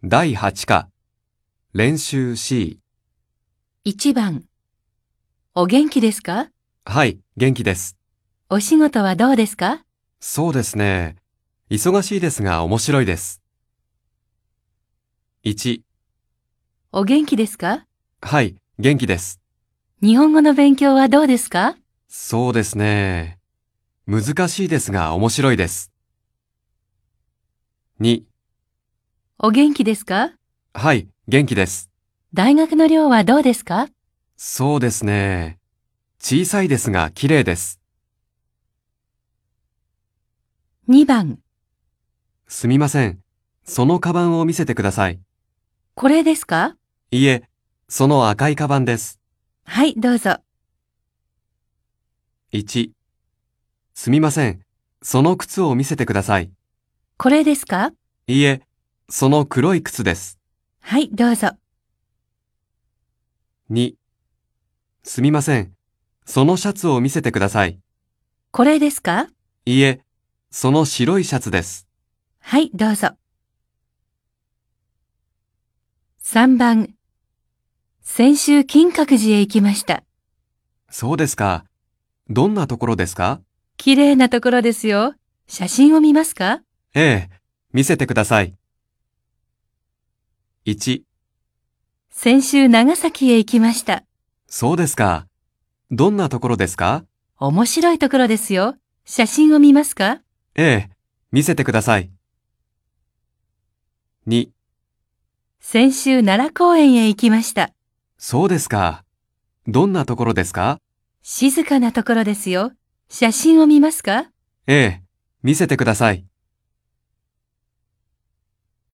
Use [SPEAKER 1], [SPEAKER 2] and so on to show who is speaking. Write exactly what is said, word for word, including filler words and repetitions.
[SPEAKER 1] だいはち課、練習 シー。
[SPEAKER 2] いちばん。お元気ですか？
[SPEAKER 1] はい、元気です。
[SPEAKER 2] お仕事はどうですか？
[SPEAKER 1] そうですね。忙しいですが面白いです。いち、
[SPEAKER 2] お元気ですか？
[SPEAKER 1] はい、元気です。
[SPEAKER 2] 日本語の勉強はどうですか？
[SPEAKER 1] そうですね。難しいですが面白いです。に、
[SPEAKER 2] お元気ですか？
[SPEAKER 1] はい、元気です。
[SPEAKER 2] 大学の寮はどうですか？
[SPEAKER 1] そうですね。小さいですが綺麗です。
[SPEAKER 2] にばん。
[SPEAKER 1] すみません。そのカバンを見せてください。
[SPEAKER 2] これですか？
[SPEAKER 1] いいえ、その赤いカバンです。
[SPEAKER 2] はい、どうぞ。
[SPEAKER 1] いち、すみません。その靴を見せてください。
[SPEAKER 2] これですか？
[SPEAKER 1] いいえ、その黒い靴です。
[SPEAKER 2] はい、どうぞ。
[SPEAKER 1] に、すみません。そのシャツを見せてください。
[SPEAKER 2] これですか？
[SPEAKER 1] いいえ、その白いシャツです。
[SPEAKER 2] はい、どうぞ。さんばん。先週金閣寺へ行きました。
[SPEAKER 1] そうですか。どんなところですか？
[SPEAKER 2] 綺麗なところですよ。写真を見ますか？
[SPEAKER 1] ええ、見せてください。いち、
[SPEAKER 2] 先週長崎へ行きました。
[SPEAKER 1] そうですか。どんなところですか？
[SPEAKER 2] 面白いところですよ。写真を見ますか？
[SPEAKER 1] ええ、見せてください。に、
[SPEAKER 2] 先週奈良公園へ行きました。
[SPEAKER 1] そうですか。どんなところですか？
[SPEAKER 2] 静かなところですよ。写真を見ますか？
[SPEAKER 1] ええ、見せてください。